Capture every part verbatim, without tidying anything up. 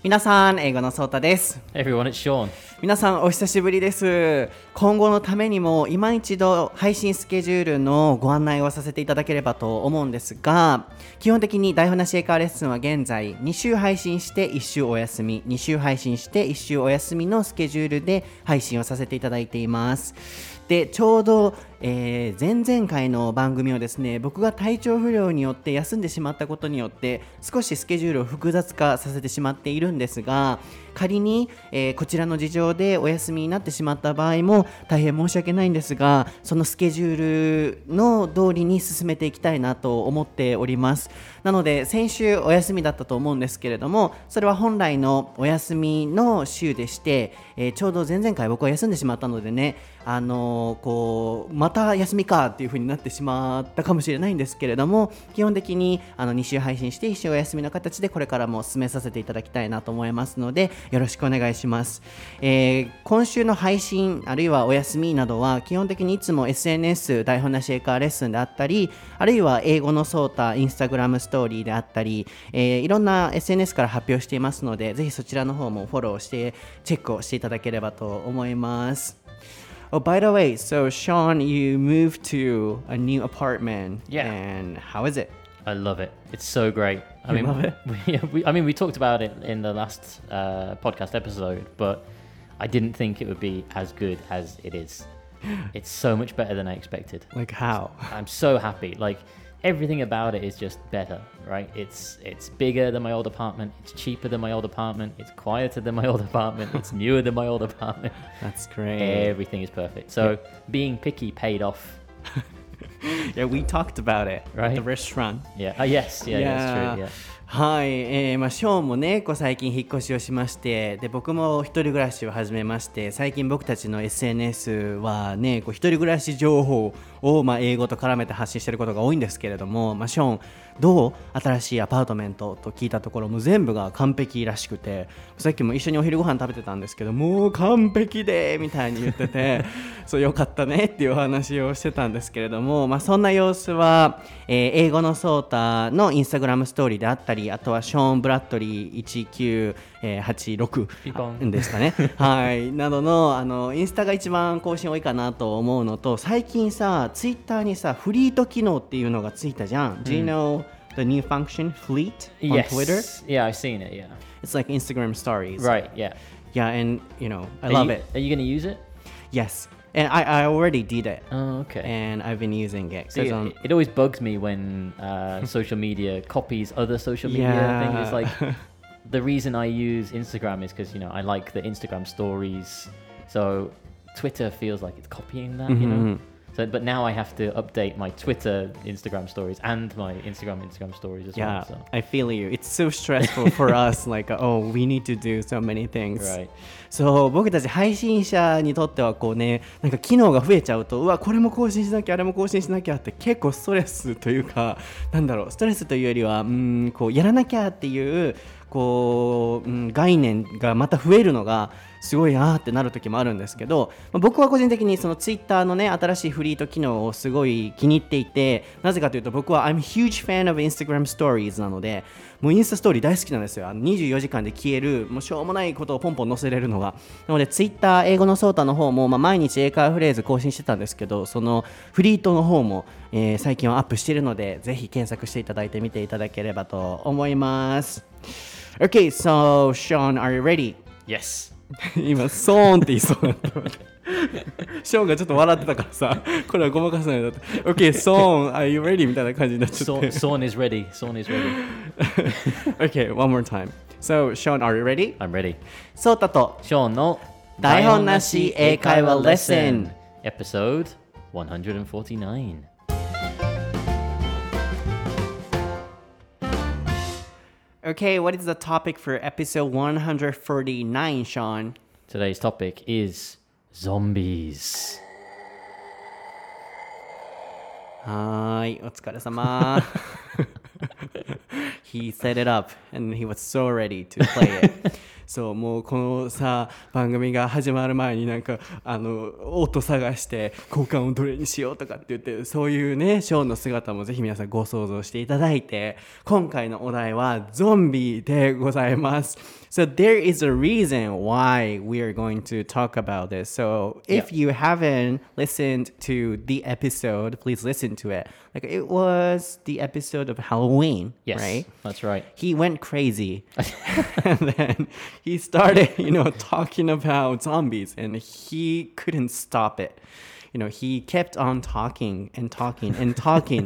皆さん、英語のソータです。 Hey everyone, it's Sean. 皆さん、お久しぶりです。今後のためにも、今一度配信スケジュールのご案内をさせていただければと思うんですが、基本的に台本なし英会話レッスンは現在、に週配信していち週お休み、に週配信していち週お休みのスケジュールで配信をさせていただいています。で、ちょうど、えー、前々回の番組をですね、僕が体調不良によって休んでしまったことによって少しスケジュールを複雑化させてしまっているんですが、仮に、えー、こちらの事情でお休みになってしまった場合も大変申し訳ないんですが、そのスケジュールの通りに進めていきたいなと思っております。なので先週お休みだったと思うんですけれども、それは本来のお休みの週でして、えー、ちょうど前々回僕は休んでしまったのでね、あのー、こうまた休みかっていう風になってしまったかもしれないんですけれども、基本的にあのに週配信していち週お休みの形でこれからも進めさせていただきたいなと思いますので、よろしくお願いします。えー、今週の配信あるいはお休みなどは基本的にいつも エスエヌエス 台本なし英会話レッスンであったり、あるいは英語のソータインスタグラムストーリーであったり、えー、いろんな エスエヌエス から発表していますので、ぜひそちらの方もフォローしてチェックをしていただければと思います。Oh, by the way, so Sean, you moved to a new apartment. Yeah. And how is it? I love it. It's so great. I You mean, love it? We, we, I mean, we talked about it in the last uh, podcast episode, but I didn't think it would be as good as it is. It's so much better than I expected. Like how? I'm so happy. Like everything about it is just better, right? It's it's bigger than my old apartment. It's cheaper than my old apartment. It's quieter than my old apartment. It's newer than my old apartment. That's great. Everything is perfect. So being picky paid off. Yeah, we talked about it Right? at the restaurant. Yeah. Oh, yes. Yeah, yeah, that's true. Yeah. はい、えーまあ、ショーンもねこう最近引っ越しをしまして、で僕も一人暮らしを始めまして、最近僕たちの エスエヌエス はねこう一人暮らし情報を、まあ、英語と絡めて発信していることが多いんですけれども、まあ、ショーンどう新しいアパートメントと聞いたところも全部が完璧らしくて、さっきも一緒にお昼ご飯食べてたんですけど、もう完璧でみたいに言っててそうよかったねっていうお話をしてたんですけれども、まあ、そんな様子は、えー、英語のソータのインスタグラムストーリーであったり、あとはショーン・ブラッドリーいちきゅうはちろくですかねはいなどの、あのインスタが一番更新多いかなと思うのと、最近さツイッターにさフリート機能っていうのがついたじゃん、うん、Do you know the new function Fleet on yes. Twitter? Yeah, I've seen it. Yeah. It's like Instagram stories. Right. Yeah. Yeah, and you know I are love you, it. Are you going to use it? Yes. And I, I already did it. Oh, okay. And I've been using it. See, um, it, it always bugs me when uh, social media copies other social media yeah. things. It's like the reason I use Instagram is because, you know, I like the Instagram stories. So Twitter feels like it's copying that, mm-hmm. you know. So, but now I have to update my Twitter Instagram stories and my Instagram Instagram stories as yeah, well. So. I feel you. It's so stressful for us. Like, oh, we need to do so many things. Right. そう、僕たち配信者にとってはこうね、なんか機能が増えちゃうと、うわこれも更新しなきゃあれも更新しなきゃって結構ストレスというか、なんだろう、ストレスというよりは、うーんこうやらなきゃっていうこう、うん、概念がまた増えるのがすごいあーってなる時もあるんですけど、まあ、僕は個人的にそのツイッターのね新しいフリート機能をすごい気に入っていて、なぜかというと僕は I'm a huge fan of Instagram Stories なので、もうインスタストーリー大好きなんですよ。あのにじゅうよじかんで消える、もうしょうもないことをポンポン載せれるのが。なのでツイッター英語のソータの方も、まあ、毎日英会話フレーズ更新してたんですけど、そのフリートの方も、えー、最近はアップしているので、ぜひ検索していただいてみていただければと思います。Okay, so Sean, are you ready? Yes. 今、ソーンって言いそうだった。ショーンがちょっと笑ってたからさ、これはごまかさないだって。Okay, Sean, are you ready? みたいな感じになっちゃって。 Sean is ready. Sean is ready. Okay, one more time. So, Sean, are you ready? I'm ready. ソータとショーンの台本なし英会話レッスン Episode one forty-nine. Okay, what is the topic for episode one forty-nine, Sean? Today's topic is zombies. はーい、お疲れ様。He set it up and he was so ready to play it. そうもうこのさ番組が始まる前になんかあの音探して交換をどれにしようとかって言ってそういうねショーンの姿もぜひ皆さんご想像していただいて今回のお題はゾンビでございます。So there is a reason why we are going to talk about this. So if Yeah. you haven't listened to the episode, please listen to it. Like it was the episode of Halloween, Yes, right? that's right. He went crazy and then he started, you know, talking about zombies and he couldn't stop it. You know, he kept on talking and talking and talking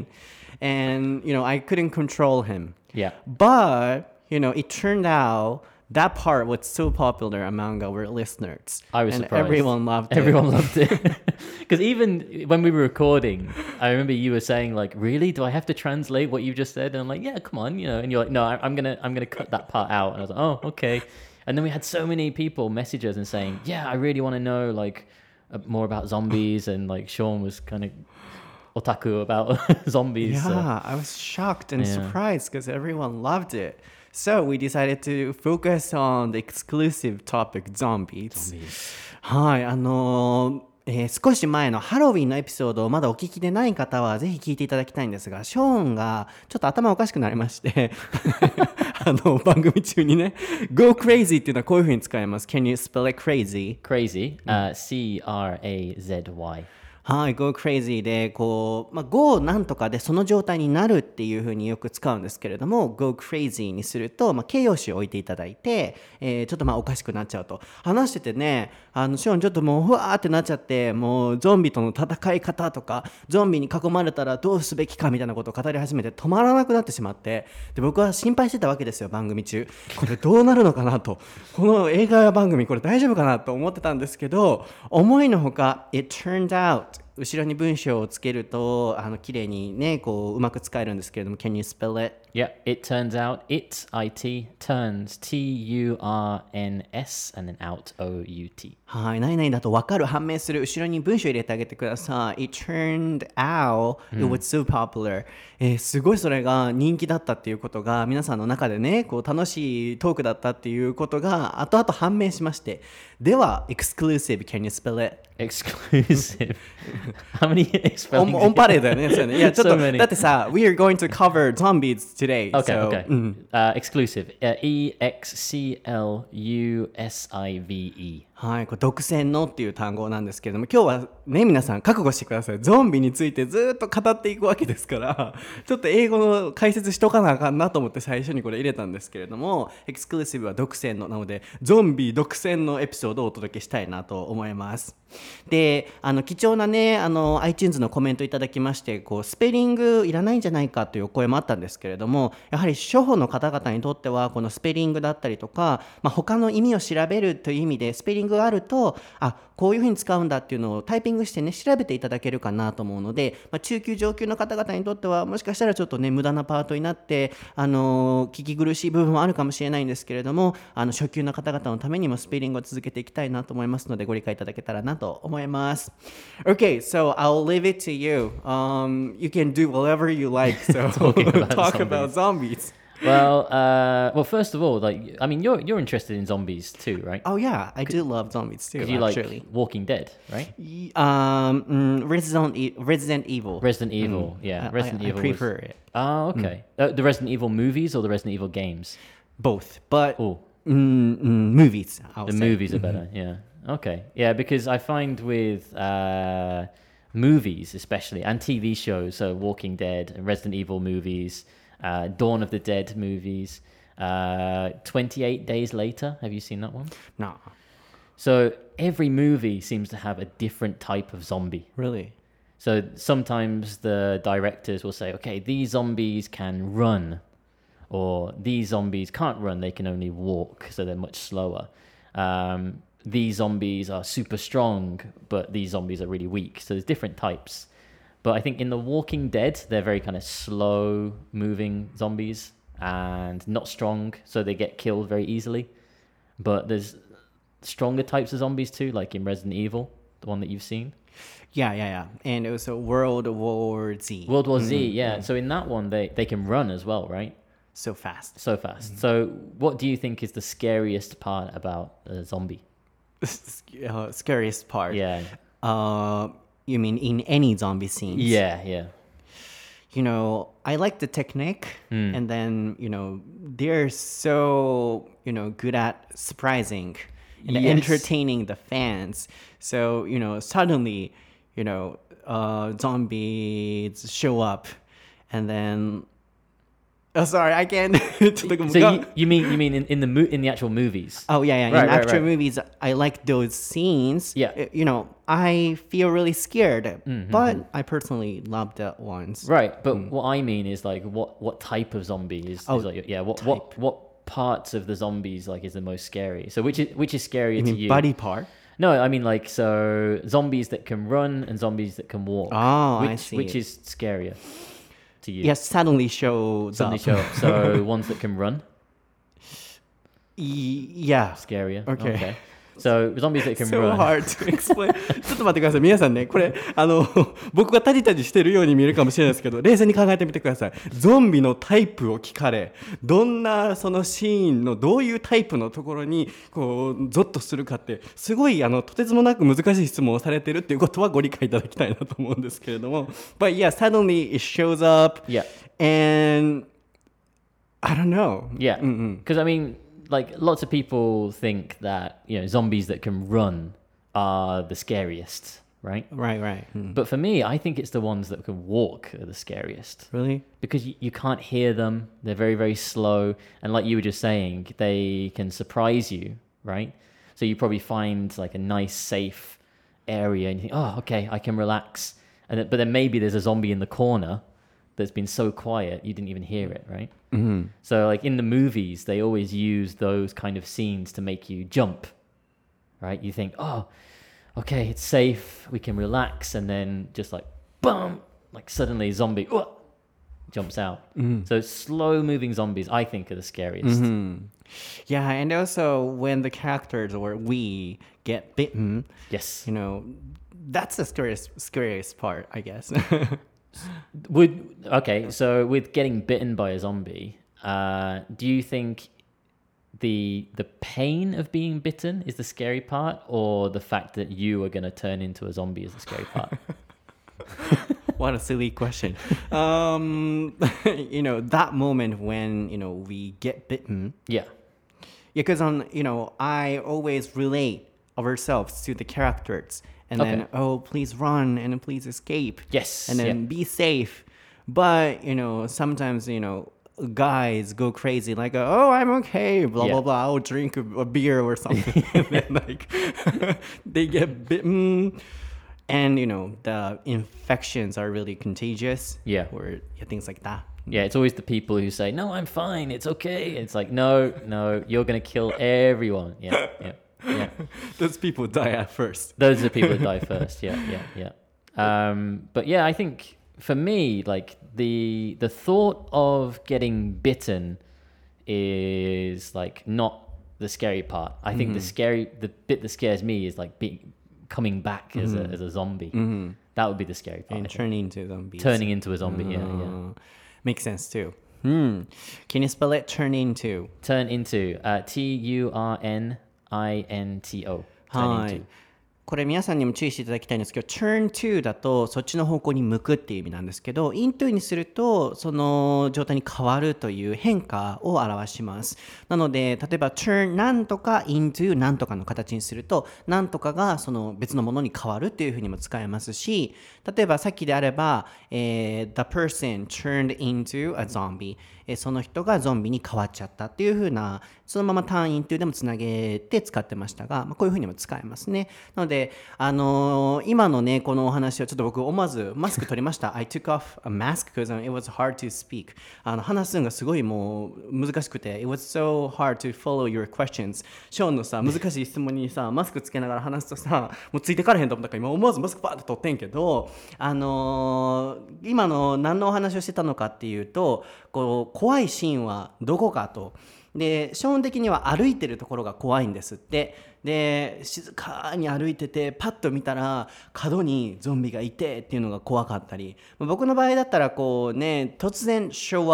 and, you know, I couldn't control him. Yeah. But, you know, it turned out that part was so popular among our listeners. I was and surprised. everyone loved it. Everyone loved it. Because even when we were recording, I remember you were saying like, "Really? Do I have to translate what you just said?" And I'm like, "Yeah, come on, you know." And you're like, "No, I, I'm gonna, I'm gonna cut that part out." And I was like, "Oh, okay." And then we had so many people message us and saying, "Yeah, I really want to know like uh, more about zombies." And like Sean was kind of otaku about zombies. Yeah, so- I was shocked and Yeah. surprised because everyone loved it. So we decided to focus on the exclusive topic, zombies. Zombies. はい、あのーえー少し前のハロウィンのエピソードをまだお聞きでない方はぜひ聞いていただきたいんですが、ショーンがちょっと頭おかしくなりましてあの番組中にね Go crazy っていうのはこういう風に使います。 Can you spell it crazy? Crazy. Uh, C R A Z Y. はい、go crazy でこう、まあ、go なんとかでその状態になるっていう風によく使うんですけれども go crazy にすると、まあ、形容詞を置いていただいて、えーちょっとまあおかしくなっちゃうと話しててねあのショーンちょっともうふわーってなっちゃってもうゾンビとの戦い方とかゾンビに囲まれたらどうすべきかみたいなことを語り始めて止まらなくなってしまってで僕は心配してたわけですよ番組中これどうなるのかなとこの映画や番組これ大丈夫かなと思ってたんですけど思いのほか It turned out後ろに文章をつけるとあの綺麗にねこううまく使えるんですけれども Can you spell it? Yeah, it turns out, it, I T, turns, T U R N S, and then out, O U T. はい何々だと分かる判明する後ろに文章入れてあげてください It turned out it was so popular、えーすごいそれが人気だったっていうことが皆さんの中でねこう楽しいトークだったっていうことが後々判明しましてでは exclusive Can you spell it? Exclusive. How many オ spellings? ンオンパレードだよねそうよねいやちょっ So と many. だってさ We are going to cover zombies today Okay, so, okay. うん Uh, exclusive. Uh, E X C L U S I V E. はい、これ独占のっていう単語なんですけれども今日はね皆さん覚悟してくださいゾンビについてずっと語っていくわけですからちょっと英語の解説しとかなあかんなと思って最初にこれ入れたんですけれどもエクスクルーシブは独占のなのでゾンビ独占のエピソードをお届けしたいなと思いますであの貴重なねあの iTunes のコメントいただきましてこうスペリングいらないんじゃないかというお声もあったんですけれどもやはり初歩の方々にとってはこのスペリングだったりとか、まあ、他の意味を調べるという意味でスペリングがあるとあこういうふうに使うんだっていうのをタイピングしてね調べていただけるかなと思うので、まあ、中級上級の方々にとってはもしかしたらちょっとね無駄なパートになって、あのー聞き苦しい部分もあるかもしれないんですけれどもあの初級の方々のためにもスペリングを続けていきたいなと思いますのでご理解いただけたらなと思います Okay, so I'll leave it to you、um, You can do whatever you like So Talking about talk zombies. about zombies Well, uh, well, first of all, like, I mean, you're you're interested in zombies too, right? Oh yeah, I do love zombies too 'Cause you actually like Walking Dead, right? Y- Um, mm, Resident, e- Resident Evil. Resident Evil, yeah. I- Resident I, Evil. I prefer it. Oh, okay. Uh, the Resident Evil movies or the Resident Evil games? Both, but Oh, mm, mm, movies. I'll the say. movies are better. Yeah. Okay. Yeah, because I find with uh, movies, especially, and T V shows, so Walking Dead and Resident Evil movies, uh, Dawn of the Dead movies, uh, twenty-eight Days Later. Have you seen that one? No, So every movie seems to have a different type of zombie. really. So sometimes the directors will say, okay, these zombies can run, or these zombies can't run, they can only walk, so they're much slower. Um, these zombies are super strong, but these zombies are really weak. So there's different types. But I think in The Walking Dead, they're very kind of slow moving zombies and not strong, so they get killed very easily. But there's stronger types of zombies too, like in Resident Evil, the one that you've seen. Yeah, yeah, yeah. And it was a World War Z. World War Z, yeah. So in that one, they, they can run as well, right? so fast. So fast. So, what do you think is the scariest part about a zombie? uh, scariest part. Yeah. Uh, you mean in any zombie scenes? Yeah, yeah. You know, I like the technique, Mm. and then, you know, they're so, you know, good at surprising and Yes. entertaining the fans. So, you know, suddenly, you know, uh, zombies show up, and then, oh, sorry, I can't. So you, you mean you mean in, in the mo- in the actual movies? Oh yeah, yeah. Right, in right, actual right. movies, I like those scenes. Yeah. Uh, You know, I feel really scared, Mm-hmm. but I personally love that ones. Right, but what I mean is like what what type of zombie is, Oh, is like yeah what what what parts of the zombies like is the most scary? So which is which is scarier You to mean you? body part? No, I mean like so zombies that can run and zombies that can walk. Oh, which, I see. Which is scarier to you? Yes, suddenly shows Suddenly up. show up. So ones that can run, Y- yeah. scarier. Okay. So zombies that can So run. hard to explain. ちょっと待ってください。皆さんね、これ、あの、僕がタジタジしてるように見えるかもしれないですけど、冷静に考えてみてください。ゾンビのタイプを聞かれ、どんなそのシーンのどういうタイプのところに、こう、ゾッとするかって、すごい、あの、とてつもなく難しい質問をされてるっていうことはご理解いただきたいなと思うんですけれども。But yeah, suddenly it shows up. Yeah. And I don't know. Yeah, because I mean, like lots of people think that you know zombies that can run are the scariest, right? Right, right. Mm. But for me, I think it's the ones that can walk are the scariest Really? because you, you can't hear them. They're very very slow, and like you were just saying, they can surprise you, right? So you probably find like a nice safe area, and you think, oh, okay, I can relax. And then, but then maybe there's a zombie in the corner that's been so quiet you didn't even hear it, right? Mm-hmm. So like in the movies, they always use those kind of scenes to make you jump, right? You think, oh, okay, it's safe, we can relax, and then just like, boom, like suddenly zombie uh, jumps out. Mm-hmm. So slow moving zombies, I think, are the scariest. Mm-hmm. Yeah, and also when the characters or we get bitten, Yes. you know, that's the scariest, scariest part, I guess. Would okay, so with getting bitten by a zombie, uh, do you think the the pain of being bitten is the scary part, or the fact that you are going to turn into a zombie is the scary part? What a silly question. Um, you know, that moment when, you know, we get bitten. Yeah. Because, on, you know, I always relate ourselves to the characters. And then, Okay. oh, please run and please escape. Yes. And then yeah. be safe. But, you know, sometimes, you know, guys go crazy like, oh, I'm okay, blah, Yeah. blah, blah. I'll drink a, a beer or something. And then, like, they get bitten. And, you know, the infections are really contagious. Yeah. Or yeah, things like that. Yeah, it's always the people who say, "No, I'm fine. It's okay." It's like, "No, no, you're going to kill everyone." Yeah, yeah. Yeah. Those people die at first. Those are the people that die first. Yeah, yeah, yeah. Um, but yeah, I think for me, like the the thought of getting bitten is like not the scary part. I think the scary the bit that scares me is like being coming back as a as a zombie. Mm-hmm. That would be the scary part. And I think. turning into zombies. Turning into a zombie. Yeah, yeah. Uh, Makes sense too. Hmm. Can you spell it turn into? Turn into uh, T U R N I N T O. Turn はい into.。 これ皆さんにも注意していただきたいんですけど turn to だとそっちの方向に向くっていう意味なんですけど into にするとその状態に変わるという変化を表しますなので例えば turn なんとか into なんとかの形にするとなんとかがその別のものに変わるっていうふうにも使えますし例えばさっきであれば、えー、the person turned into a zombie、えー、その人がゾンビに変わっちゃったっていうふうなそのまま turn into でもつなげて使ってましたが、まあ、こういうふうにも使えますねなのであのー、今のねこのお話はちょっと僕思わずマスク取りました I took off a mask because it was hard to speak あの話すのがすごいもう難しくて it was so hard to follow your questions ショーンのさ難しい質問にさマスクつけながら話すとさもうついてかれへんと思ったから今思わずマスクパーッと取ってんけどあのー、今の何のお話をしてたのかっていうとこう怖いシーンはどこかとでショーン的には歩いてるところが怖いんですってで静かに歩いててパッと見たら角にゾンビがいてっていうのが怖かったり僕の場合だったらこうね突然 show up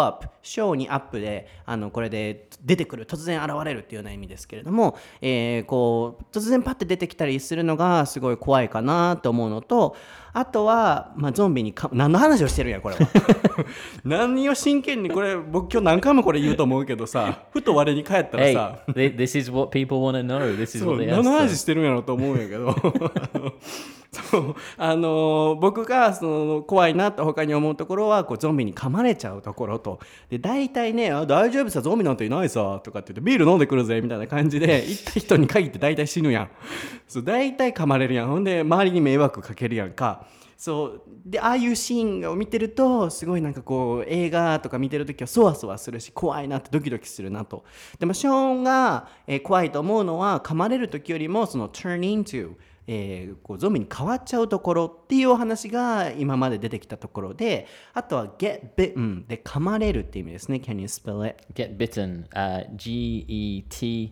ショーにアップであのこれで出てくる突然現れるっていうような意味ですけれども、えー、こう突然パッて出てきたりするのがすごい怖いかなと思うのと、あとは、まあ、ゾンビにか何の話をしてるんやこれは何を真剣にこれ僕今日何回もこれ言うと思うけどさ、ふと我に返ったらさ、 hey, this is what people want to know. This is what they ask. 何の話してるんやろと思うんやけどそうあの僕がその怖いなと他に思うところはこうゾンビに噛まれちゃうところと、で大体ねあ大丈夫さゾンビなんていないさとかって言ってビール飲んでくるぜみたいな感じで行った人に限って大体死ぬやんそう大体噛まれるやん、ほんで周りに迷惑かけるやんか。そうでああいうシーンを見てるとすごいなんかこう映画とか見てるときはそわそわするし怖いなってドキドキするなと。でもショーンが、えー、怖いと思うのは噛まれるときよりもその turn intoえー、こうゾンビに変わっちゃうところっていうお話が今まで出てきたところで、あとは get bitten で噛まれるっていう意味ですね。 Can you spell it? Get bitten、uh, G E T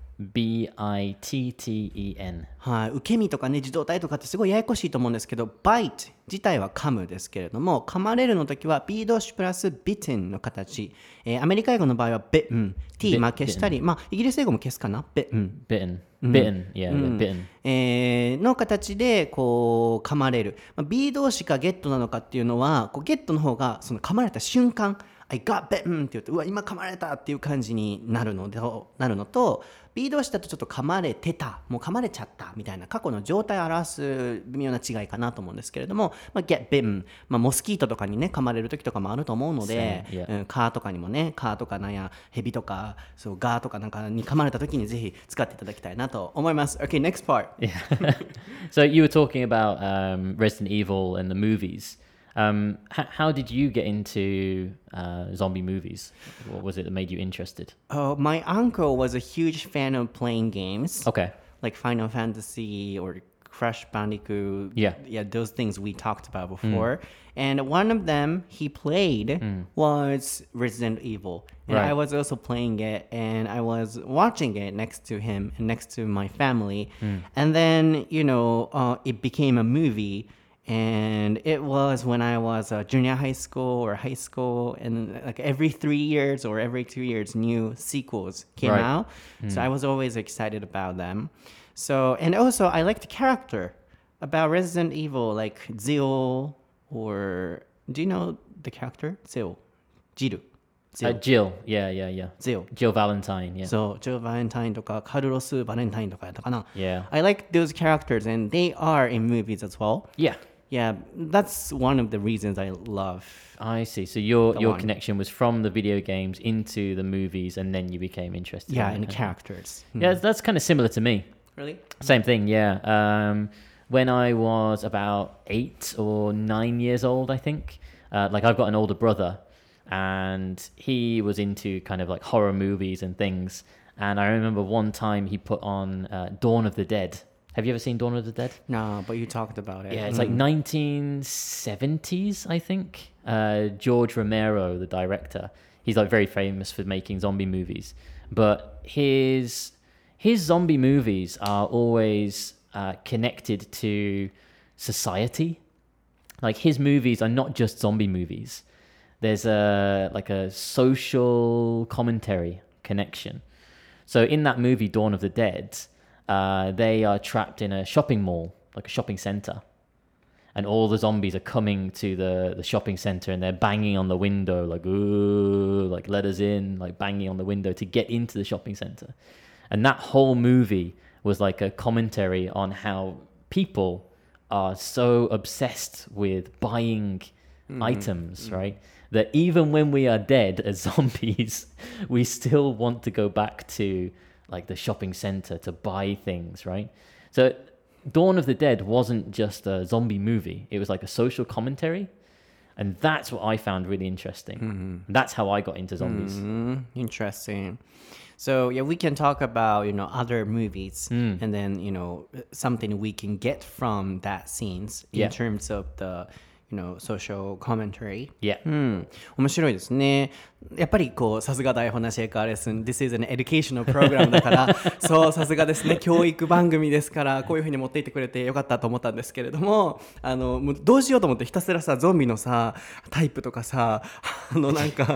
B I T T E N はい、受け身とかね自動体とかってすごいややこしいと思うんですけど bite 自体は噛むですけれども、噛まれるの時は B 動詞プラス bitten の形、えー、アメリカ英語の場合は bitten T まあ消したり、まあイギリス英語も消すかな bitten bitten bitten yeah、うん、bitten、 えー、の形でこう噛まれる、まあ、B 動詞か get なのかっていうのはこう get の方がその噛まれた瞬間I got bitten って言うとうわ今噛まれたっていう感じになるのでなるのと、 B 動詞だとちょっと噛まれてたもう噛まれちゃったみたいな過去の状態を表す微妙な違いかなと思うんですけれども、まあ、get bitten、まあ、モスキートとかにね噛まれる時とかもあると思うので、 yeah. うん、蚊とかにもね蚊とかなんやヘビとかそうガーとかなんかに噛まれた時にぜひ使っていただきたいなと思います。 OK next part yeah. So you were talking about um, Resident Evil and the movies.Um, h- how did you get into uh, zombie movies? What was it that made you interested? Oh, my uncle was a huge fan of playing games. Okay. Like Final Fantasy or Crash Bandicoot. Yeah. Yeah, those things we talked about before. Mm. And one of them he played mm. was Resident Evil. And right. I was also playing it and I was watching it next to him and next to my family. Mm. And then, you know, uh, it became a movie.And it was when I was a junior high school or high school, and like every three years or every two years, new sequels came right. out. Mm. So I was always excited about them. So, and also I liked the character about Resident Evil, like Jill, or do you know the character? Jill. Jill. Uh, Jill, yeah, yeah, yeah. Jill. Jill Valentine, yeah. So, Jill Valentine とか、カルロス・バレンタインとかやったかな。 Yeah. I like those characters, and they are in movies as well. Yeah.Yeah, that's one of the reasons I love. I see. So your your one. connection was from the video games into the movies, and then you became interested. Yeah, in and the characters. Yeah, mm. that's kind of similar to me. Really? Same thing. Yeah. Um, when I was about eight or nine years old, I think. Uh, like I've got an older brother, and he was into kind of like horror movies and things. And I remember one time he put on uh, Dawn of the Dead.Have you ever seen Dawn of the Dead? No, but you talked about it. Yeah, it's mm. like nineteen seventies, I think. Uh, George Romero, the director, he's like very famous for making zombie movies. But his his zombie movies are always uh, connected to society. Like his movies are not just zombie movies. There's a like a social commentary connection. So in that movie, Dawn of the Dead,Uh, they are trapped in a shopping mall, like a shopping center. And all the zombies are coming to the, the shopping center and they're banging on the window, like, ooh, like, let us in, like, banging on the window to get into the shopping center. And that whole movie was like a commentary on how people are so obsessed with buying mm-hmm. items, mm-hmm. right? That even when we are dead as zombies, we still want to go back to...like the shopping center to buy things, right? So Dawn of the Dead wasn't just a zombie movie. It was like a social commentary. And that's what I found really interesting. Mm-hmm. That's how I got into zombies. Mm-hmm. Interesting. So yeah, we can talk about, you know, other movies mm. and then, you know, something we can get from that scenes in yeah. terms of the...You know, social commentary. Yeah. うん。面白いですね。やっぱりこう、さすが台本なし英会話レッスン。This is an educational program だから、そう、さすがですね。教育番組ですから、こういう風に持っていってくれてよかったと思ったんですけれども、あの、もうどうしようと思ってひたすらさ、ゾンビのさ、タイプとかさ、あのなんか、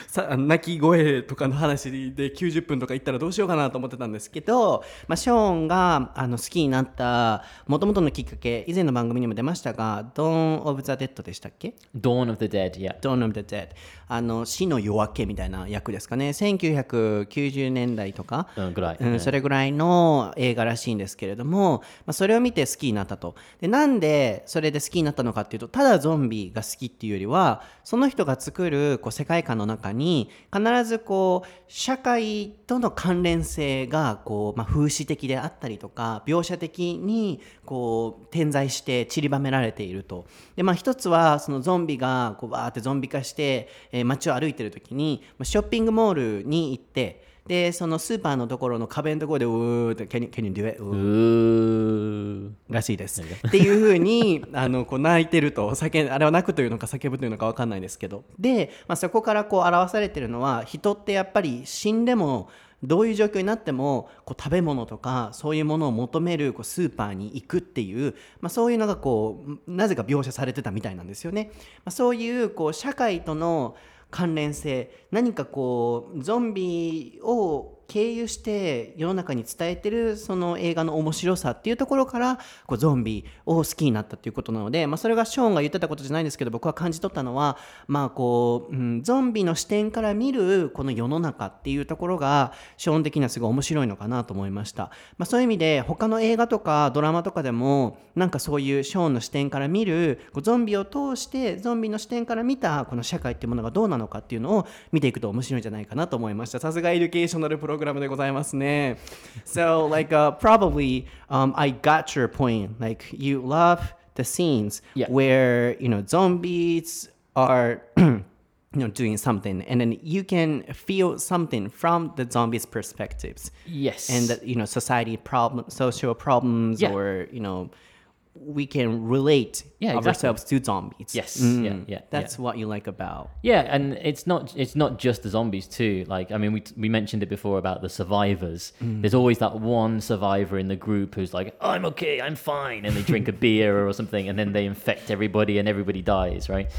さ泣き声とかの話できゅうじゅっぷんとか行ったらどうしようかなと思ってたんですけど、まあ、ショーンがあの好きになった元々のきっかけ、以前の番組にも出ましたが Dawn of the Dead でしたっけ？ Dawn of the Dead, yeah. Dawn of the Dead、 あの死の夜明けみたいな役ですかね。せんきゅうひゃくきゅうじゅうねんだいとか、 うんぐらい、 うん、それぐらいの映画らしいんですけれども、まあ、それを見て好きになったと。でなんでそれで好きになったのかっていうと、ただゾンビが好きっていうよりは、その人が作るこう世界観の中に必ずこう社会との関連性がこう、まあ、風刺的であったりとか描写的にこう点在して散りばめられていると。で、まあ、一つはそのゾンビがこうバーってゾンビ化して、えー、街を歩いてる時にショッピングモールに行って、でそのスーパーのところの壁のところでうーって Can you, can you do it? うーらしいですっていう風にあのこう泣いてると、叫んあれは泣くというのか叫ぶというのか分かんないですけど、で、まあ、そこからこう表されてるのは、人ってやっぱり死んでもどういう状況になってもこう食べ物とかそういうものを求めるこうスーパーに行くっていう、まあ、そういうのがこうなぜか描写されてたみたいなんですよね。まあ、そういうこう社会との関連性、何かこうゾンビを経由して世の中に伝えてるその映画の面白さっていうところからこうゾンビを好きになったっていうことなので、まあ、それがショーンが言ってたことじゃないんですけど、僕は感じ取ったのは、まあこううん、ゾンビの視点から見るこの世の中っていうところがショーン的にはすごい面白いのかなと思いました。まあ、そういう意味で他の映画とかドラマとかでもなんかそういうショーンの視点から見るこうゾンビを通してゾンビの視点から見たこの社会っていうものがどうなのかっていうのを見ていくと面白いんじゃないかなと思いました。さすがエデュケーショナルプログラムでございますね。So like、uh, probably、um, I got your point. Like you love the scenes、yeah. where you know zombies are you know doing something and then you can feel something from the zombies perspectives. Yes. And that you know society problem social problems、yeah. or you know we can relate yeah, exactly. ourselves to zombies. Yes, mm. yeah, yeah. That's yeah. what you like about. Yeah, and it's not it's not just the zombies too. Like I mean, we we mentioned it before about the survivors. Mm. There's always that one survivor in the group who's like, oh, "I'm okay, I'm fine," and they drink a beer or something, and then they infect everybody, and everybody dies. Right?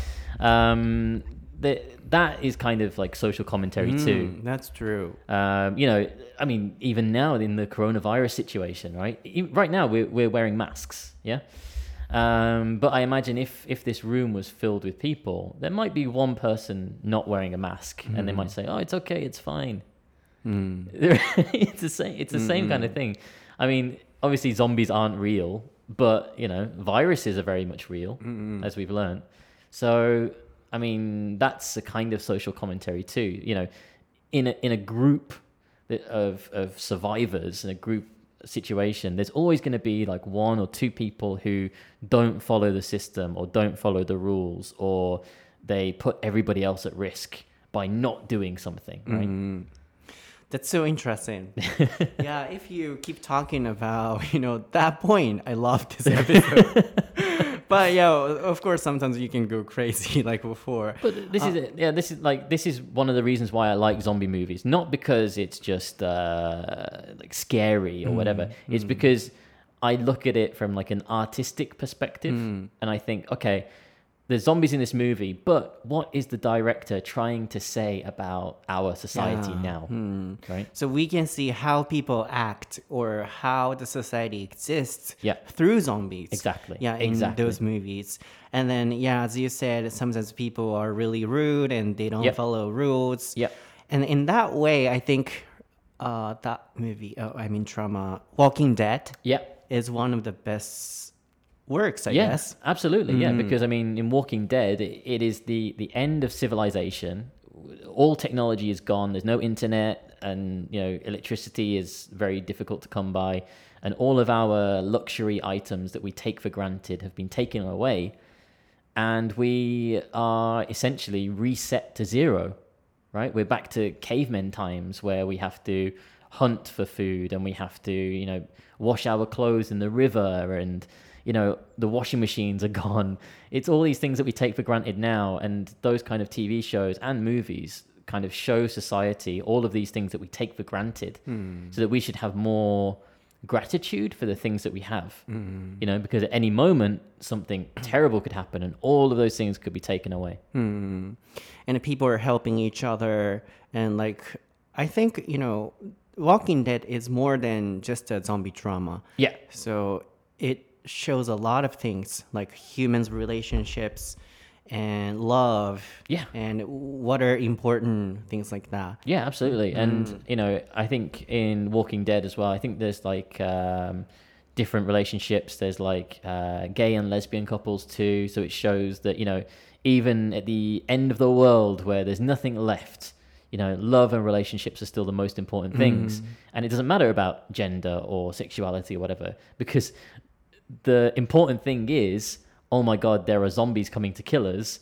Um, the, that is kind of like social commentary mm, too. That's true. Um, you know, I mean, even now in the coronavirus situation, right? Right now we're we're wearing masks, yeah. Um, but I imagine if if this room was filled with people, there might be one person not wearing a mask, mm. and they might say, "Oh, it's okay, it's fine." Mm. it's the same. It's the mm. same kind of thing. I mean, obviously zombies aren't real, but you know, viruses are very much real, mm. as we've learned. So. I mean, that's a kind of social commentary too. You know, in a in a group of of survivors, in a group situation, there's always going to be like one or two people who don't follow the system or don't follow the rules, or they put everybody else at risk by not doing something, right? Mm. That's so interesting. Yeah, if you keep talking about, you know, that point, I love this episode. But yeah, of course, sometimes you can go crazy like before. But this uh, is it. Yeah, this is like this is one of the reasons why I like zombie movies. Not because it's just uh, like scary or mm, whatever. It's mm. because I look at it from like an artistic perspective, mm. and I think, okay, there's zombies in this movie, but what is the director trying to say about our society yeah. now? Hmm. Right? So we can see how people act or how the society exists yeah. through zombies. Exactly. Yeah, in exactly. those movies. And then, yeah, as you said, sometimes people are really rude and they don't yep. follow rules. Yeah. And in that way, I think uh, that movie, oh, I mean drama, Walking Dead yep. is one of the best works, I yeah, guess. Absolutely, mm. yeah. Because I mean, in Walking Dead, it, it is the the end of civilization. All technology is gone. There's no internet, and you know, electricity is very difficult to come by, and all of our luxury items that we take for granted have been taken away, and we are essentially reset to zero. Right? We're back to cavemen times where we have to hunt for food, and we have to, you know, wash our clothes in the river, and you know, the washing machines are gone. It's all these things that we take for granted now, and those kind of T V shows and movies kind of show society all of these things that we take for granted, mm. so that we should have more gratitude for the things that we have. Mm. You know, because at any moment something terrible could happen and all of those things could be taken away. Mm. And people are helping each other, and like I think, you know, Walking Dead is more than just a zombie drama. Yeah. So it shows a lot of things like humans' relationships and love, yeah, and what are important things like that. Yeah, absolutely. Mm. And you know, I think in Walking Dead as well, I think there's like um different relationships. There's like uh gay and lesbian couples too, so it shows that, you know, even at the end of the world where there's nothing left, you know, love and relationships are still the most important things. Mm. And it doesn't matter about gender or sexuality or whatever, because the important thing is, oh my God, there are zombies coming to kill us.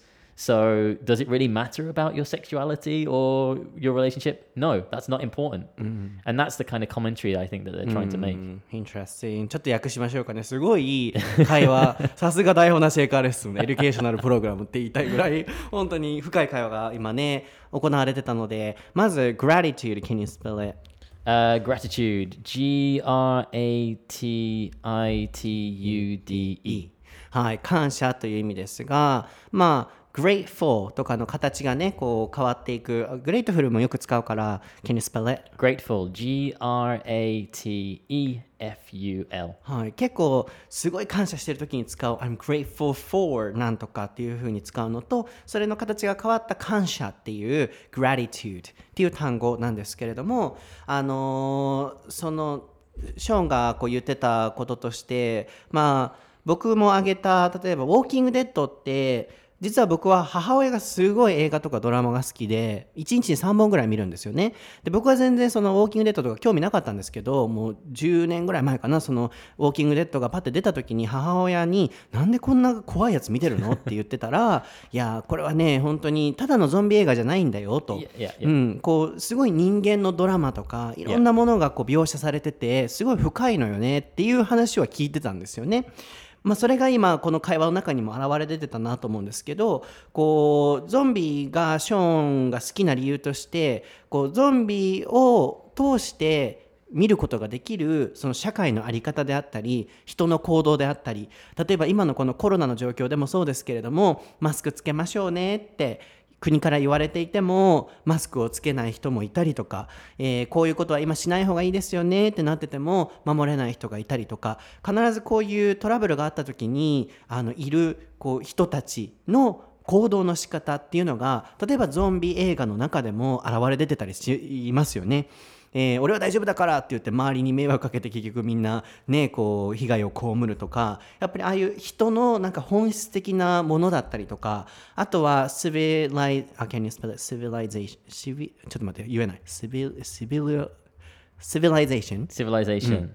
So does it really matter about your sexuality or your relationship? No, that's not important. Mm. And that's the kind of commentary I think that they're trying to make. Interesting. ちょっと訳しましょうかね。すごいいい会話。さすが台本なし英会話レッスン、エデュケーショナルプログラムって言いたいぐらい、本当に深い会話が今ね、行われてたので、まず gratitude, can you spell it? Uh, gratitude, G R A T I T U D E。 はい、感謝という意味ですが、まあ、grateful とかの形がね、こう変わっていく。grateful もよく使うから、can you spell it? Grateful, G R A T E F U L。 はい、結構すごい感謝してる時に使う I'm grateful for なんとかっていう風に使うのと、それの形が変わった感謝っていう gratitude っていう単語なんですけれども、あのー、そのショーンがこう言ってたこととして、まあ僕も挙げた、例えばウォーキングデッドって実は僕は母親がすごい映画とかドラマが好きでいちにちにさんぼんぐらい見るんですよね。で僕は全然そのウォーキングデッドとか興味なかったんですけど、もうじゅうねんぐらい前かな、そのウォーキングデッドがパッて出た時に母親になんでこんな怖いやつ見てるのって言ってたらいやこれはね本当にただのゾンビ映画じゃないんだよと、 yeah, yeah, yeah. うん、こうすごい人間のドラマとかいろんなものがこう描写されててすごい深いのよねっていう話は聞いてたんですよね。まあ、それが今この会話の中にも現れ出てたなと思うんですけど、こうゾンビがショーンが好きな理由としてこうゾンビを通して見ることができるその社会の在り方であったり人の行動であったり、例えば今のこのコロナの状況でもそうですけれども、マスクつけましょうねって国から言われていてもマスクをつけない人もいたりとか、えー、こういうことは今しない方がいいですよねってなってても守れない人がいたりとか、必ずこういうトラブルがあった時にあのいるこう人たちの行動の仕方っていうのが例えばゾンビ映画の中でも現れ出てたりしますよね。えー、俺は大丈夫だからって言って周りに迷惑かけて結局みんなねこう被害を被るとか、やっぱりああいう人のなんか本質的なものだったりとか、あとは civilize ah can you spell it civilization ちょっと待って言えない civil civil civilization civilization、うん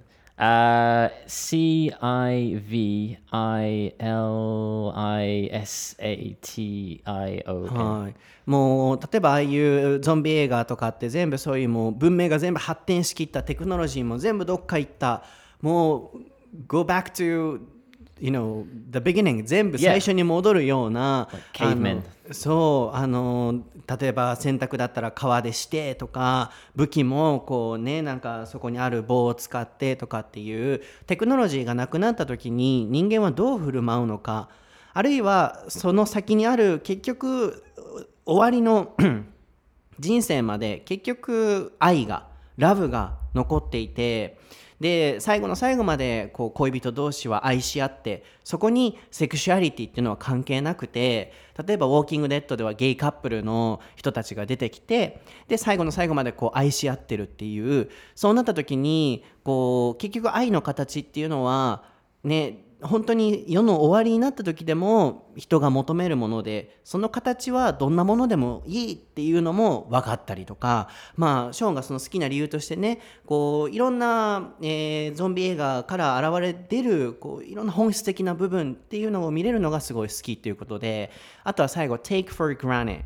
Uh, C I V I L I S A T I O N。 はい、もう例えばああいうゾンビ映画とかって全部そういうもう文明が全部発展しきった、テクノロジーも全部どっか行った、もう go back to you know the beginning 全部最初に戻るような、 yeah. あのそうあの例えば洗濯だったら川でしてとか、武器もこうねなんかそこにある棒を使ってとかっていうテクノロジーがなくなった時に人間はどう振る舞うのか、あるいはその先にある結局終わりの人生まで結局愛がラブが残っていて、で最後の最後までこう恋人同士は愛し合って、そこにセクシュアリティっていうのは関係なくて、例えばウォーキングデッドではゲイカップルの人たちが出てきて、で最後の最後までこう愛し合ってるっていう、そうなった時にこう結局愛の形っていうのはね本当に世の終わりになった時でも人が求めるもので、その形はどんなものでもいいっていうのも分かったりとか、まあショーンがその好きな理由としてね、こういろんな、えー、ゾンビ映画から現れ出るこういろんな本質的な部分っていうのを見れるのがすごい好きっていうことで、あとは最後 take for granted。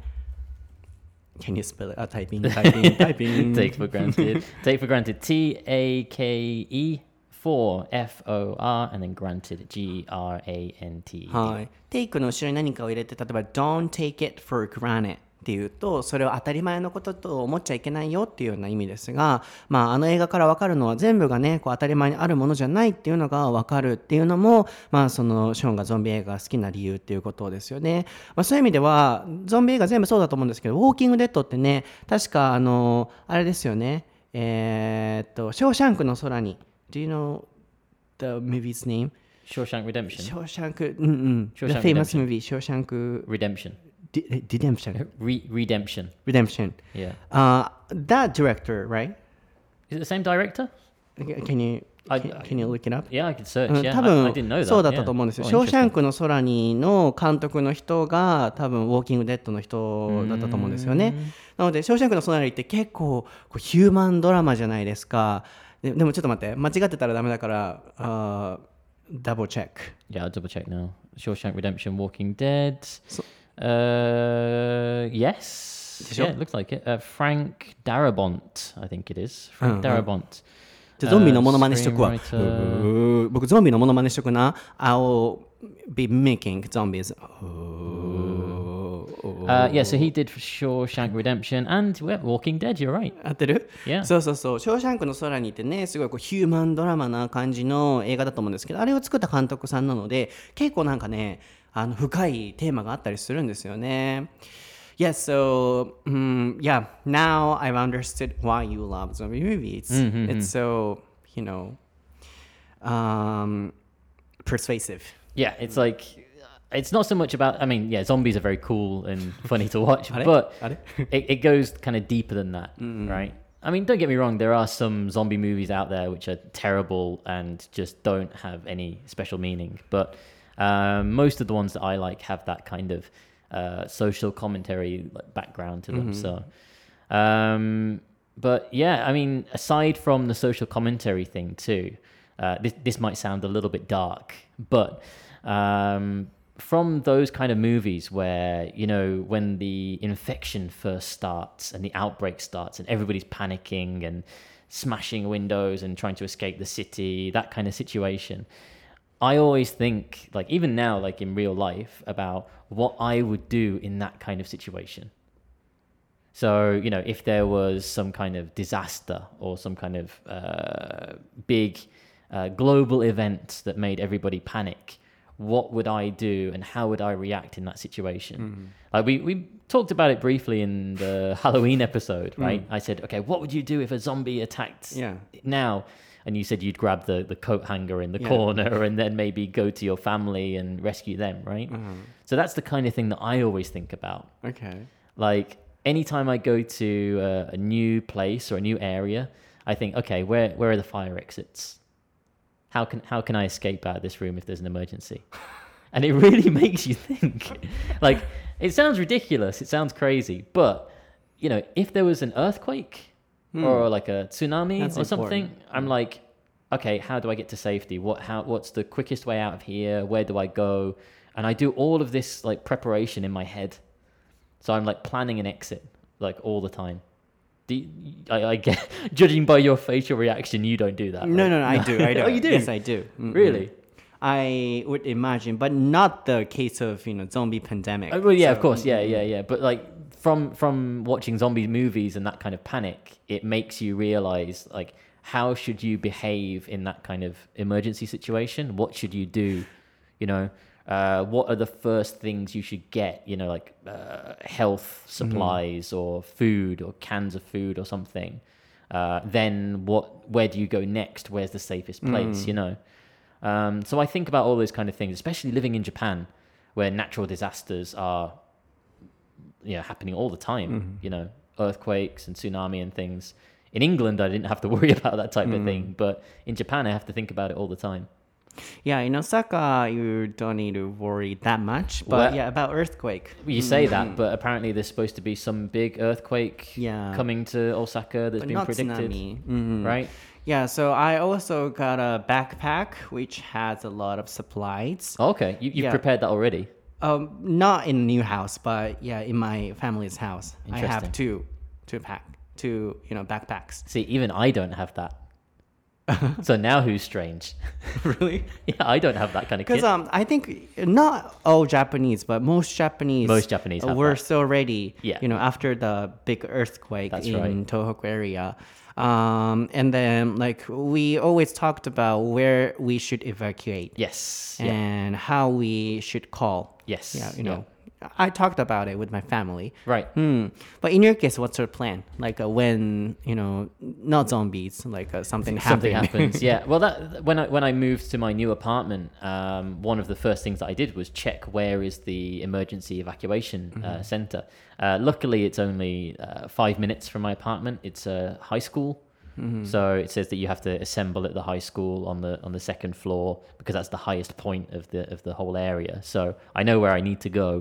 Can you spell it? あ、タイピングタイピングタイピング take for granted take for granted T A K E for F O R and then granted G R A N T E D。 はい、take の後ろに何かを入れて、例えば don't take it for granted っていうとそれを当たり前のことと思っちゃいけないよっていうような意味ですが、まあ、あの映画から分かるのは全部がねこう当たり前にあるものじゃないっていうのが分かるっていうのも、まあ、そのショーンがゾンビ映画が好きな理由っていうことですよね、まあ、そういう意味ではゾンビ映画全部そうだと思うんですけどウォーキングデッドってね確かあのあれですよねえー、っとショーシャンクの空に Do you know the movie's name? Shawshank Redemption. ショーシャンクうんうん The Shawshank famous Redemption. movie ショーシャンク Redemption. Redemption Re- Redemption. Redemption Yeah. Uh, that director, right? Is it the same director? Can you I- can, can you look it up? Yeah, I could search. うん Yeah, 多 I, I 分 didn't know that. そうだったと Yeah. 思うんですよ。 Oh, ショーシャン interesting. クの空にの監督の人が多分ウォーキングデッドの人だったと思うんですよね。なのでショーシャンクの空にって結構こうヒューマンドラマじゃないですか。で、でもちょっと待って間違ってたらダメだからあダブルチェック。 Yeah, I'll double check now. Shawshank Redemption, Walking Dead. So- Uh, yes. Sure. Yeah, it looks like it. Uh, Frank Darabont, I think it is. Frank Uh-huh. Darabont. じゃあゾンビのモノマネしとくわ。 Uh, う screenwriter. ー僕ゾンビのモノマネしとくな。I'll be making zombies. Uh, yeah, so he did Shawshank Redemption and yeah, Walking Dead. You're right. 合ってる Yeah. そうそうそう。ショーシャンクの空にってね、すごいこうヒューマンドラマな感じの映画だと思うんですけど、あれを作った監督さんなので、結構なんかね、あの深いテーマがあったりするんですよね。Yeah, so um, yeah, now I've understood why you love zombie movies. It's so, you know, um, persuasive. Yeah, it's like it's not so much about. I mean, yeah, zombies are very cool and funny to watch, あれ but あれ it, it goes kind of deeper than that, right? I mean, don't get me wrong. There are some zombie movies out there which are terrible and just don't have any special meaning. But um, most of the ones that I like have that kind of uh, social commentary like, background to them. So, um, but yeah, I mean, aside from the social commentary thing too, uh, this this might sound a little bit dark, but um, from those kind of movies where, you know, when the infection first starts and the outbreak starts and everybody's panicking and smashing windows and trying to escape the city, that kind of situation, I always think, like, even now, like in real life, about what I would do in that kind of situation. So, you know, if there was some kind of disaster or some kind of uh, big uh, global event that made everybody panic, what would I do and how would I react in that situation? Mm-hmm. Like we, we talked about it briefly in the Halloween episode, right? Mm. I said, okay, what would you do if a zombie attacked yeah. now? And you said you'd grab the, the coat hanger in the yeah. corner and then maybe go to your family and rescue them, right? Uh-huh. So that's the kind of thing that I always think about. Okay. Like anytime I go to a, a new place or a new area, I think, okay, where where are the fire exits? How can how can I escape out of this room if there's an emergency? And it really makes you think. Like, it sounds ridiculous, it sounds crazy, but, you know, if there was an earthquake hmm. or like a tsunami That's or something, important. I'm like, okay, how do I get to safety? What how what's the quickest way out of here? Where do I go? And I do all of this like preparation in my head. So I'm like planning an exit like all the time. Do you, I, I get, judging by your facial reaction, you don't do that. No, right? no, no, I do, I do. Oh, you do? Yes, I do. Mm-hmm. Really? I would imagine, but not the case of, you know, zombie pandemic. Oh, well, yeah, so, of course, yeah, yeah, yeah. But like from from watching zombie movies and that kind of panic, it makes you realize like how should you behave in that kind of emergency situation? What should you do? You know, uh, what are the first things you should get? You know, like uh, health supplies mm-hmm. or food or cans of food or something. Uh, then what? Where do you go next? Where's the safest place? Mm. You know. Um, so I think about all those kind of things, especially living in Japan, where natural disasters are, you know, happening all the time. Mm-hmm. You know, earthquakes and tsunami and things. In England, I didn't have to worry about that type mm. of thing, but in Japan, I have to think about it all the time. Yeah, in Osaka, you don't need to worry that much. But well, yeah, about earthquake. You say mm-hmm. that, but apparently there's supposed to be some big earthquake yeah. coming to Osaka that's but been not predicted, mm-hmm. right? Yeah, so I also got a backpack which has a lot of supplies. Oh, okay, you, you've yeah. prepared that already? Um, not in a new house, but yeah, in my family's house, I have two, two pack, two you know backpacks. See, even I don't have that. So now who's strange? Really? Yeah, I don't have that kind of kit. Because um, I think not all Japanese, but most Japanese, Most Japanese have were that. so ready. Yeah. You know, after the big earthquake That's in right. Tohoku area, um, and then like we always talked about where we should evacuate Yes. Yeah. and how we should call. Yes. Yeah, you Yeah. know, I talked about it with my family. Right. Hmm. But in your case, what's your plan? Like uh, when you know, not zombies, like uh, something Something happened. happens. Yeah. Well, that when I when I moved to my new apartment, um, one of the first things that I did was check where is the emergency evacuation uh, center. Uh, luckily, it's only uh, five minutes from my apartment. It's a high school. So it says that you have to assemble at the high school on the on the second floor because that's the highest point of the of the whole area. So I know where I need to go.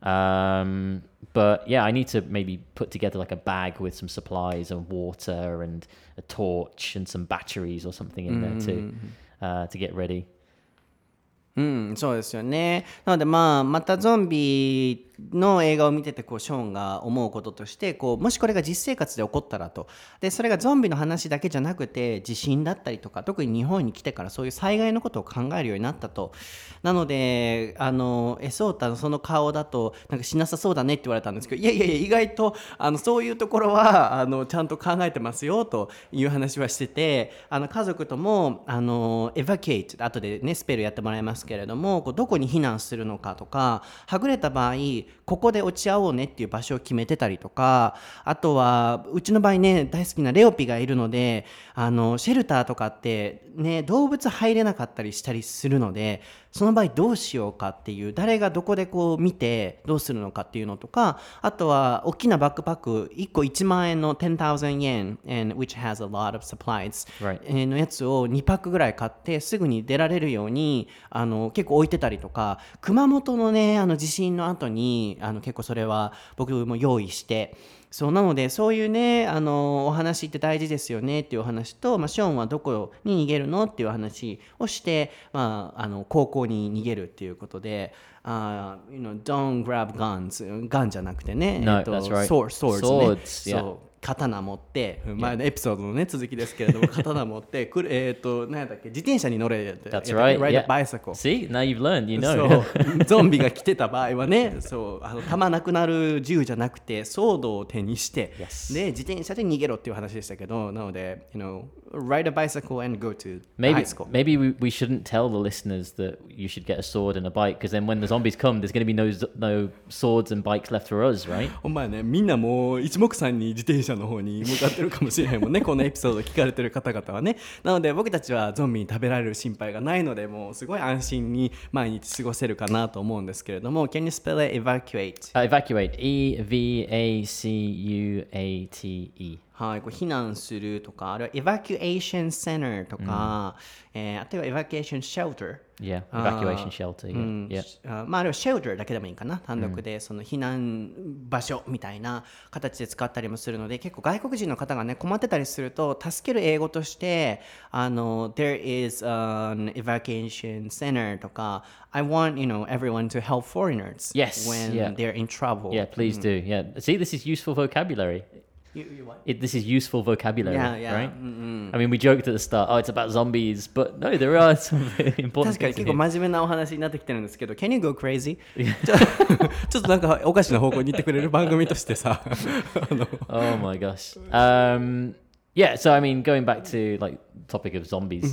Um, but yeah, I need to maybe put together like a bag with some supplies and water and a torch and some batteries or something in there too, uh, to get ready. うん、そうですよね。なのでまあまたゾンビの映画を見ててこうショーンが思うこととしてこうもしこれが実生活で起こったらとでそれがゾンビの話だけじゃなくて地震だったりとか特に日本に来てからそういう災害のことを考えるようになったとなのであのエソータのその顔だとなんかしなさそうだねって言われたんですけどいやいやいや意外とあのそういうところはあのちゃんと考えてますよという話はしててあの家族ともあのエバキュエイト後でねスペルやってもらいますけれどもこうどこに避難するのかとかはぐれた場合ここで落ち合おうねっていう場所を決めてたりとかあとはうちの場合ね大好きなレオピがいるのであのシェルターとかってね動物入れなかったりしたりするのでその場合どうしようかっていう誰がどこでこう見てどうするのかっていうのとかあとは大きなバックパックいっこいちまん円の ten thousand yen and which has a lot of supplies、 Right. えーのやつをにパックぐらい買ってすぐに出られるようにあの結構置いてたりとか熊本のねあの地震の後にあの結構それは僕も用意してそうなのでそういうねあのお話って大事ですよねっていうお話と、まあ、ショーンはどこに逃げるのっていう話をして、まあ、あの高校に逃げるっていうことで、uh, you know, don't grab guns ガンじゃなくてね、 No, えっと、 that's right. sword, swords ね Swords, yeah. そう刀持って前のエピソードのね続きですけれども刀持ってくるえっと何やったっけ自転車に乗れって That's right. ride Yeah. a bicycle See, now you've learned. You know. そうゾンビが来てた場合はねそうあの弾なくなる銃じゃなくてソードを手にして、 Yes. で自転車で逃げろっていう話でしたけどなので you know ride a bicycle and go to Maybe high school maybe we, we shouldn't tell the listeners that you should get a sword and a bike because then when the zombies come, there's going to be no no swords and bikes left for us, right? お前ねみんなもう一目散に自転車の方に向かってるかもしれへんもんねこのエピソード聞かれてる方々はねなので僕たちはゾンビに食べられる心配がないのでもうすごい安心に毎日過ごせるかなと思うんですけれども Can you spell it evacuate? Uh, evacuate. E V A C U A T E. はい、こう避難するとかあるいは evacuation center とか、えー、あとは evacuation shelter Yeah, あー evacuation shelter. う Yeah, ん yeah. あまああるいは shelter だけでもいいかな単独でその避難場所みたいな形で使ったりもするので結構外国人の方がね困ってたりすると助ける英語としてあの there is an evacuation center とか I want you know everyone to help foreigners Yes, when yeah. they're in trouble Yeah, please do. Yeah. See, this is useful vocabulary. You, you what? It, this is useful vocabulary, Yeah, yeah. right? Mm-mm. I mean, we joked at the start, oh, it's about zombies, but no, there are some very important 確かに things in 結構 here. 真面目なお話になってきてるんですけど Can you go crazy? ちょちょっとなんかおかしな方向に行ってくれる番組としてさあの Oh my gosh. Um, yeah, so I mean, going back to like topic of zombies,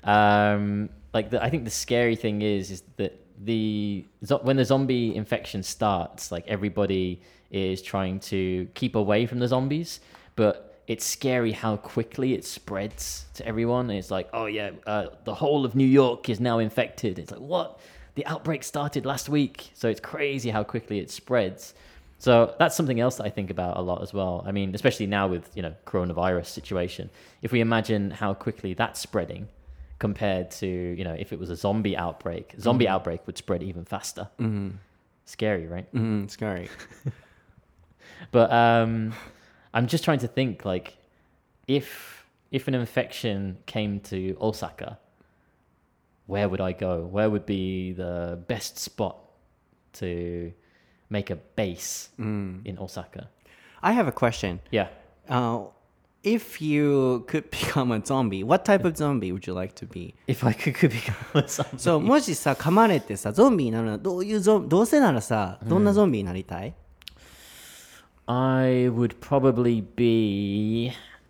um, like the, I think the scary thing is is that the zo- when the zombie infection starts, like everybody is trying to keep away from the zombies, but it's scary how quickly it spreads to everyone. And it's like, oh yeah, uh, the whole of New York is now infected. It's like, what? The outbreak started last week. So it's crazy how quickly it spreads. So that's something else that I think about a lot as well. I mean, especially now with, you know, coronavirus situation. If we imagine how quickly that's spreading compared to, you know, if it was a zombie outbreak, zombie mm-hmm. outbreak would spread even faster. Mm-hmm. Scary, right? Mm-hmm. Scary. But um, I'm just trying to think, like, if if an infection came to Osaka, where would I go? Where would be the best spot to make a base mm. in Osaka? I have a question. Yeah. Uh, if you could become a zombie, what type of zombie would you like to be? If I could, could become a zombie. そう、もしさ、噛まれてさ、ゾンビになるのはどういうゾンどうせならさ、どんなゾンビになりたい、 I would probably be.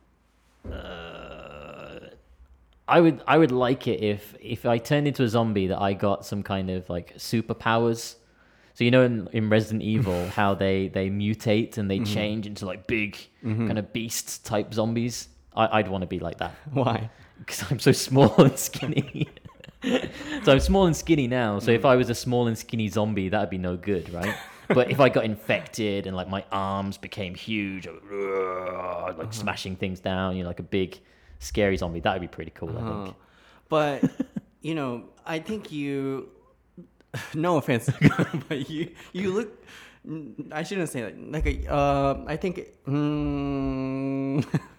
Uh, I would. I would like it if if I turned into a zombie that I got some kind of like superpowers. So you know in, in Resident Evil how they they mutate and they mm-hmm. change into like big mm-hmm. kind of beast type zombies. I, I'd want to be like that. Why? Because I'm so small and skinny. So I'm small and skinny now. So mm. if I was a small and skinny zombie, that'd be no good, right? But if I got infected and like my arms became huge, like uh-huh. smashing things down, you know, like a big scary zombie, that would be pretty cool, uh-huh. I think. But you know, I think you. No offense, but you you look. I shouldn't say that. Like a, uh, I think. Um,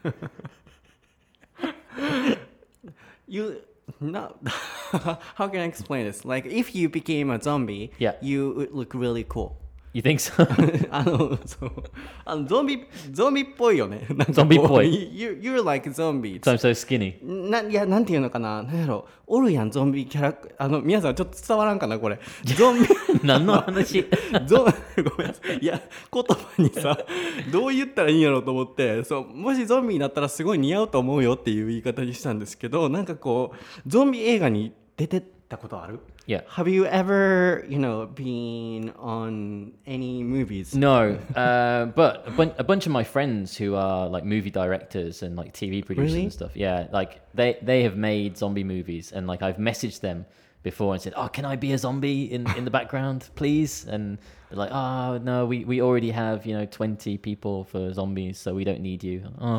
you not. How can I explain this? Like if you became a zombie, yeah. you would look really cool. You think so? あのそうあのゾンビゾンビっぽいよね。 ゾンビっぽい。 You you're like zombie. So I'm so skinny. ないやなんていうのかな。なんやろおるやんゾンビキャラあの皆さんちょっと伝わらんかなこれ。ゾンビ何の話？ ゾンごめんなさい。いや言葉にさどう言ったらいいんやろうと思ってそうもしゾンビになったらすごい似合うと思うよっていう言い方にしたんですけどなんかこうゾンビ映画に出てたことある ？Yeah. Have you ever, you know, been on any movies? No, uh, but a, bun- a bunch of my friends who are like movie directors and like T V producers really? and stuff, yeah, like they, they have made zombie movies and like I've messaged them before and said, oh, can I be a zombie in, in the background, please? And they're like, oh, no, we, we already have, you know, twenty people for zombies, so we don't need you. Oh,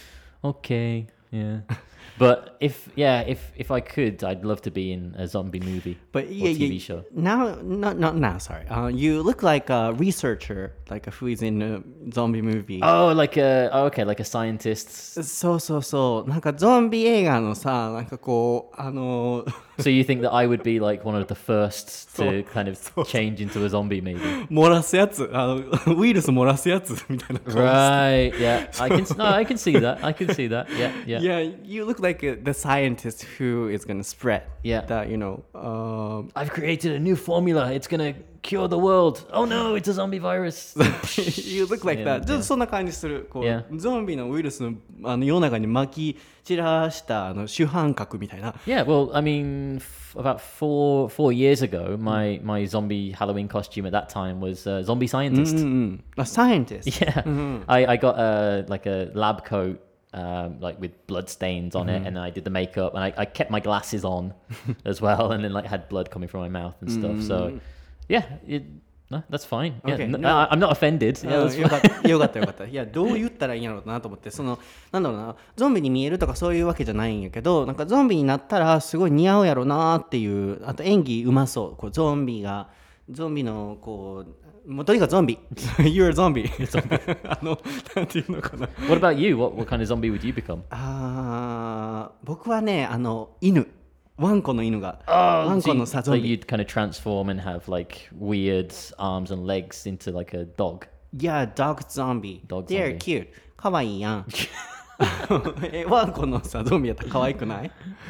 okay, yeah. But if yeah, if if I could, I'd love to be in a zombie movie but or yeah, T V yeah, show. Now, not not now. Sorry, uh, you look like a researcher, like who is in a zombie movie. Oh, like a oh, okay, like a scientist. そうそうそう。なんかゾンビ映画のさ、なんかこうあの。 So you think that I would be like one of the first to kind of change into a zombie, maybe? 漏らすやつ、あのウイルス漏らすやつみたいな感じ。 Right. Yeah. I can. No, I can see that. I can see that. Yeah. Yeah. Yeah. You look like a, the scientist who is gonna spread. Yeah. That you know. Um, I've created a new formula. It's gonna cure the world. Oh no, it's a zombie virus. You look like yeah, that. ちょっとそんな感じする。こう、 yeah. ゾンビのウイルスのあの世の中に巻き散らしたあの主犯格みたいな。 Yeah, well, I mean, f- about four four years ago, my my zombie Halloween costume at that time was a zombie scientist. Mm-hmm. A scientist. Yeah, mm-hmm. I I got a like a lab coat. Um, like with blood stains on mm-hmm. it, and I did the makeup, and I, I kept my glasses on as well, and then like had blood coming from my mouth and stuff. Mm-hmm. So, yeah, it, no, that's fine. Yeah, okay, no, no. I, I'm not offended. Yeah, that's よかったよかったよかった。いやどう言ったらいいんやろうなと思って、そのなんだろうな、ゾンビに見えるとかそういうわけじゃないんやけど、なんかゾンビになったらすごい似合うやろうなっていう、あと演技うまそう。こうゾンビがゾンビのこう。もうとにかくゾンビ。You're a zombie. あの、なんていうのかな。 What about you? What, what kind of zombie would you become? あー、僕はね、あの、犬。ワンコの犬が。 Oh, ワンコのさ、ゾンビ。 So you'd kind of transform and have like weird arms and legs into like a dog. Yeah, dog zombie. Dog They're zombie. cute. かわいいやん。え、ワンコのさ、ゾンビやったらかわいくない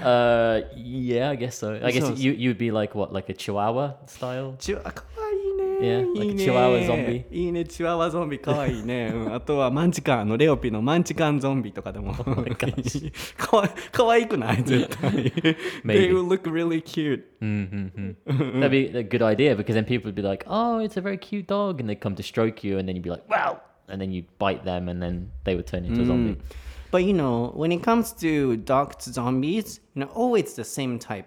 Uh, yeah, I guess so. I guess So- you you'd be like what, like a Chihuahua style? チュあ、かわいいね。 Yeah, いい like ね。 a Chihuahua zombie. いいね、チワワゾンビかわいいね。うん、あとはマンチカン、あのレオピのマンチカンゾンビとかでも。かわかわいくない絶対。They will look really cute. Mm-hmm. That'd be a good idea because then people would be like, "Oh, it's a very cute dog," and they'd come to stroke you, and then you'd be like, "Wow!" and then you'd bite them, and then they would turn into a zombie. But you know, when it comes to dog zombies, you know, always the same type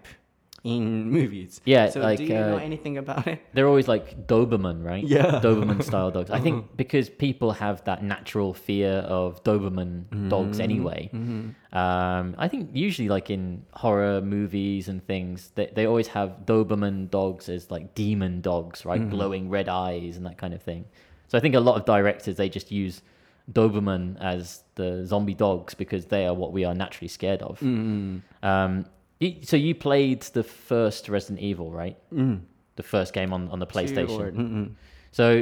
in movies. Yeah, so like, do you know uh, anything about it? They're always like Doberman, right? Yeah. Doberman style dogs. I think because people have that natural fear of Doberman mm-hmm. dogs anyway. Mm-hmm. Um, I think usually like in horror movies and things, they, they always have Doberman dogs as like demon dogs, right? Mm-hmm. Glowing red eyes and that kind of thing. So I think a lot of directors, they just use Doberman as the zombie dogs because they are what we are naturally scared of. Mm-hmm. Um, you, so you played the first Resident Evil, right? Mm. The first game on, on the PlayStation. Or, mm-hmm. So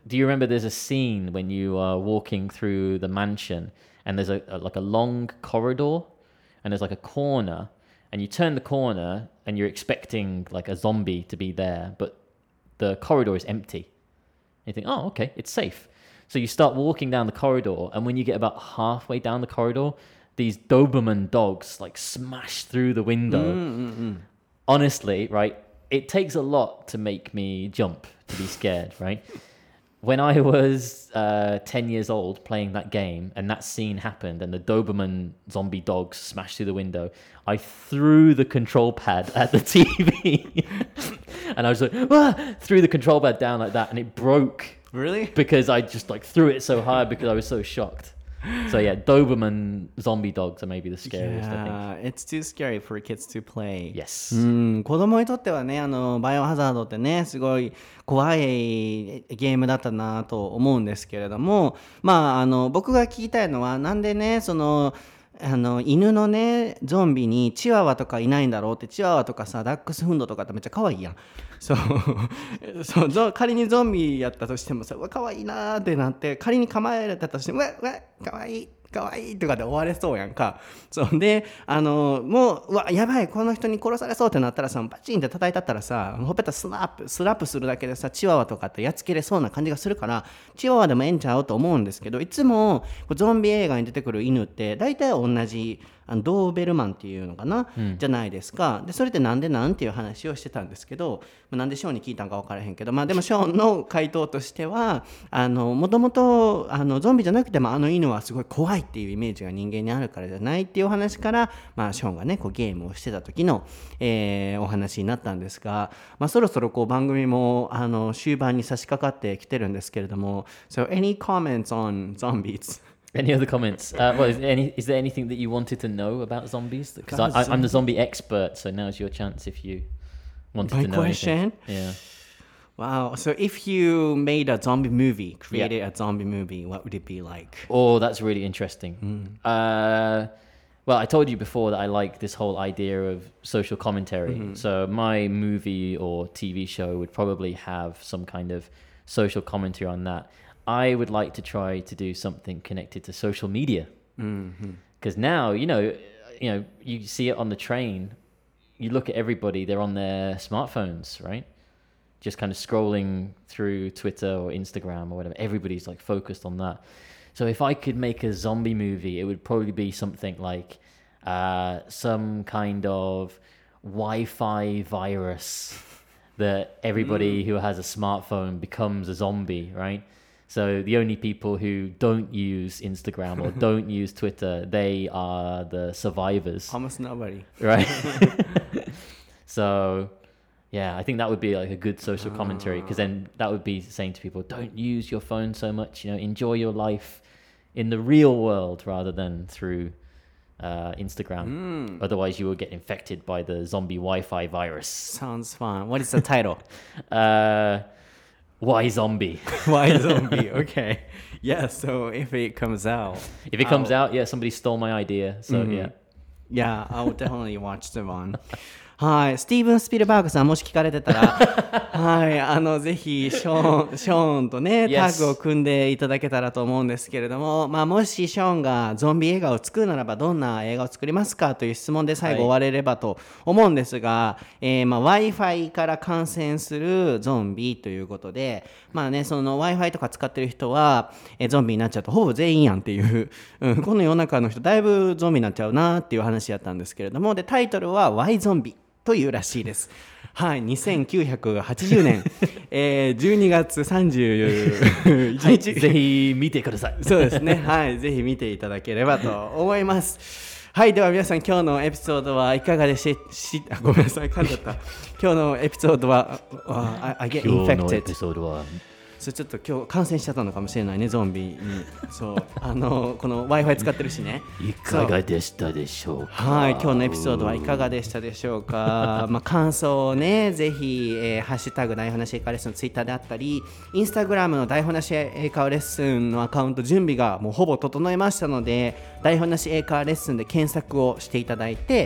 do you remember there's a scene when you are walking through the mansion and there's a, a like a long corridor and there's like a corner and you turn the corner and you're expecting like a zombie to be there, but the corridor is empty. And you think, oh, okay, it's safe. So you start walking down the corridor, and when you get about halfway down the corridor, these Doberman dogs like smash through the window. Mm-mm-mm. Honestly, right, it takes a lot to make me jump, to be scared, right? When I was uh, ten years old playing that game and that scene happened and the Doberman zombie dogs smashed through the window, I threw the control pad at the T V. And I was like, ah! threw the control pad down like that and it broke. Really? Because I just like threw it so hard because I was so shocked. So yeah, Doberman zombie dogs are maybe the scariest, Yeah, I think. it's too scary for kids to play. Yes. うん、子供にとってはね、あのバイオハザードってね、すごい怖いゲームだったなと思うんですけれども、まああの僕が聞きたいのはなんでね、そのあの犬のねゾンビにチワワとかいないんだろうって。チワワとかさダックスフンドとかってめっちゃ可愛いやん。そうそうゾ仮にゾンビやったとしてもさ、うわ可愛いなーってなって、仮に構えられたとしてもうわうわ可愛い可愛いとかで終われそうやんか。そうで、あのもううわやばいこの人に殺されそうってなったらさ、バチンって叩いたったらさ、ほっぺたスナップスラップするだけでさ、チワワとかってやっつけれそうな感じがするから、チワワでもええんちゃうと思うんですけど、いつもゾンビ映画に出てくる犬って大体同じあのドーベルマンっていうのかな、うん、じゃないですか。でそれってなんでなんていう話をしてたんですけど、なんでショーンに聞いたんか分からへんけど、まあでもショーンの回答としては、あのもともとあのゾンビじゃなくてもあの犬はすごい怖いっていうイメージが人間にあるからじゃないっていうお話から、まあ、ショーンがねこうゲームをしてた時の、えー、お話になったんですが、まあ、そろそろこう番組もあの終盤に差し掛かってきてるんですけれども、 So any comments on zombies? Any other comments? Uh, well, is there, any, is there anything that you wanted to know about zombies? Because I, I, I'm the zombie expert, so now's your chance if you wanted My to know question? anything. Yeah. Wow. So if you made a zombie movie, created yeah. a zombie movie, what would it be like? Oh, that's really interesting. Mm. Uh, well, I told you before that I like this whole idea of social commentary. Mm-hmm. So my movie or T V show would probably have some kind of social commentary on that. I would like to try to do something connected to social media. Because mm-hmm. now, you know, you know, you see it on the train. You look at everybody; they're on their smartphones, right? Just kind of scrolling through Twitter or Instagram or whatever. Everybody's like focused on that. So if I could make a zombie movie, it would probably be something like uh, some kind of Wi-Fi virus that everybody mm. who has a smartphone becomes a zombie, right? So the only people who don't use Instagram or don't use Twitter, they are the survivors. Almost nobody. Right? So, yeah, I think that would be like a good social commentary, because then that would be saying to people, don't use your phone so much, you know, enjoy your life in the real world rather than through uh, Instagram. Mm. Otherwise, you will get infected by the zombie Wi-Fi virus. Sounds fun. What is the title? uh... Why zombie? Why zombie? Okay. Yeah, so if it comes out. If it comes I'll... out, yeah, somebody stole my idea. So, mm-hmm. yeah. Yeah, I'll definitely watch the one. はい、スティーブン・スピルバーグさんもし聞かれてたらはい、あのぜひショーン、ショーンとねタッグを組んでいただけたらと思うんですけれども、まあ、もしショーンがゾンビ映画を作るならばどんな映画を作りますかという質問で最後終われればと思うんですが、はい、えーまあ、Wi-Fi から感染するゾンビということで、まあね、その Wi-Fi とか使ってる人は、えー、ゾンビになっちゃうとほぼ全員やんっていう、うん、この世の中の人だいぶゾンビになっちゃうなっていう話やったんですけれども、でタイトルは Why ゾンビというらしいです。はい、にせんきゅうひゃくはちじゅうねん、えー、じゅうにがつさんじゅういちにち、 はい、ぜひ見てください。 そうですね、はい、ぜひ見ていただければと思います。はい、では皆さん今日のエピソードはいかがでししあごめんなさい噛んじゃった。今日のエピソードは、uh, I, I get infected。 今日のエピソードはそれちょっと今日感染しちゃったのかもしれないね、ゾンビに。そうあのこの Wi-Fi 使ってるしね。 いかがでしたでしょうか。 はい、今日のエピソードはいかがでしたでしょうか。まあ感想をね、ぜひ、えー、ハッシュタグ台本なし英会話レッスンのツイッターであったり、インスタグラムの台本なし英会話レッスンのアカウント準備がもうほぼ整いましたので、台本なし英会話レッスンで検索をしていただいて、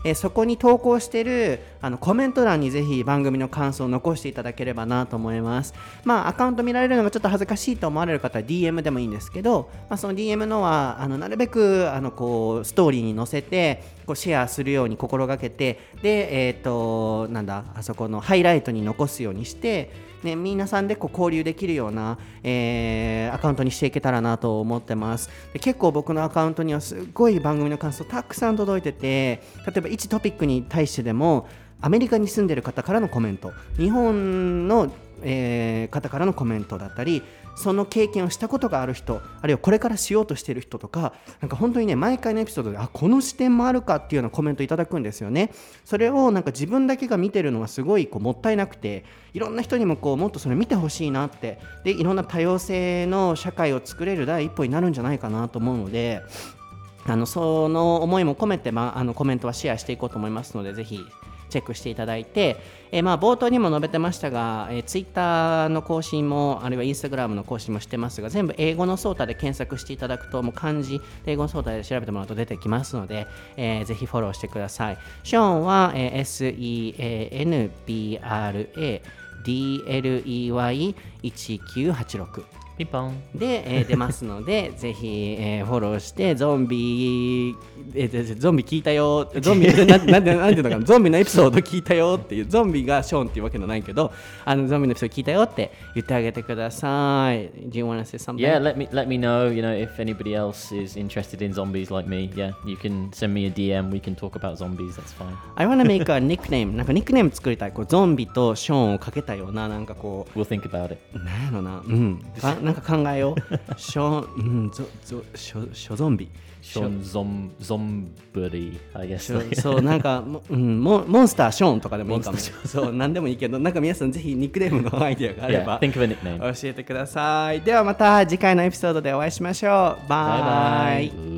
えー、そこに投稿しているあのコメント欄にぜひ番組の感想を残していただければなと思います。まあアカウント見られるのがちょっと恥ずかしいと思われる方は ディーエム でもいいんですけど、まあ、その ディーエム のはあのなるべくあのこうストーリーに載せてこうシェアするように心がけて、で、えーと、なんだあそこのハイライトに残すようにして、ね、皆さんでこう交流できるような、えー、アカウントにしていけたらなと思ってます。で結構僕のアカウントにはすごい番組の感想たくさん届いてて、例えばいちトピックに対してでもアメリカに住んでる方からのコメント、日本の、えー、方からのコメントだったり、その経験をしたことがある人、あるいはこれからしようとしている人とか、なんか本当にね、毎回のエピソードであこの視点もあるかっていうようなコメントいただくんですよね。それをなんか自分だけが見てるのはすごいこうもったいなくて、いろんな人にもこうもっとそれ見てほしいなって、でいろんな多様性の社会を作れる第一歩になるんじゃないかなと思うので、あのその思いも込めて、まあ、あのコメントはシェアしていこうと思いますので、ぜひチェックしていただいて、えー、まあ冒頭にも述べてましたが、えー、ツイッターの更新もあるいはインスタグラムの更新もしてますが、全部英語のソータで検索していただくと、もう漢字英語のソータで調べてもらうと出てきますので、えー、ぜひフォローしてください。ショーンは、えー、エスイーエーエヌビーアールエーディーエルイーワイいちきゅうはちろくピンポンで、えー、出ますのでぜひ、えー、フォローしてゾンビ、えー、ゾンビ聞いたよゾンビな, なんでなんていうのかなゾンビのエピソード聞いたよっていう、ゾンビがショーンっていうわけじゃないけど、あのゾンビのエピソード聞いたよって言ってあげてください。 Do you want to say something? Yeah, let me let me know, you know, if anybody else is interested in zombies like me. Yeah, you can send me a ディーエム. We can talk about zombies. That's fine. I want to make a nickname. なんかニックネーム作りたい。こうゾンビとショーンをかけたような、なんかこう We'll think about it. なんやろな、うんなんか考えよう。ショーン、うん、ゾゾショショゾンビ。 ショーンゾンゾンブリ I guess. そうなんか、うん、モ, モンスターショーンとかでもいいかも。そうなんでもいいけど、なんか皆さんぜひニックネームのアイデアがあれば、 yeah, think of a nickname. 教えてください。ではまた次回のエピソードでお会いしましょう。バイバイ。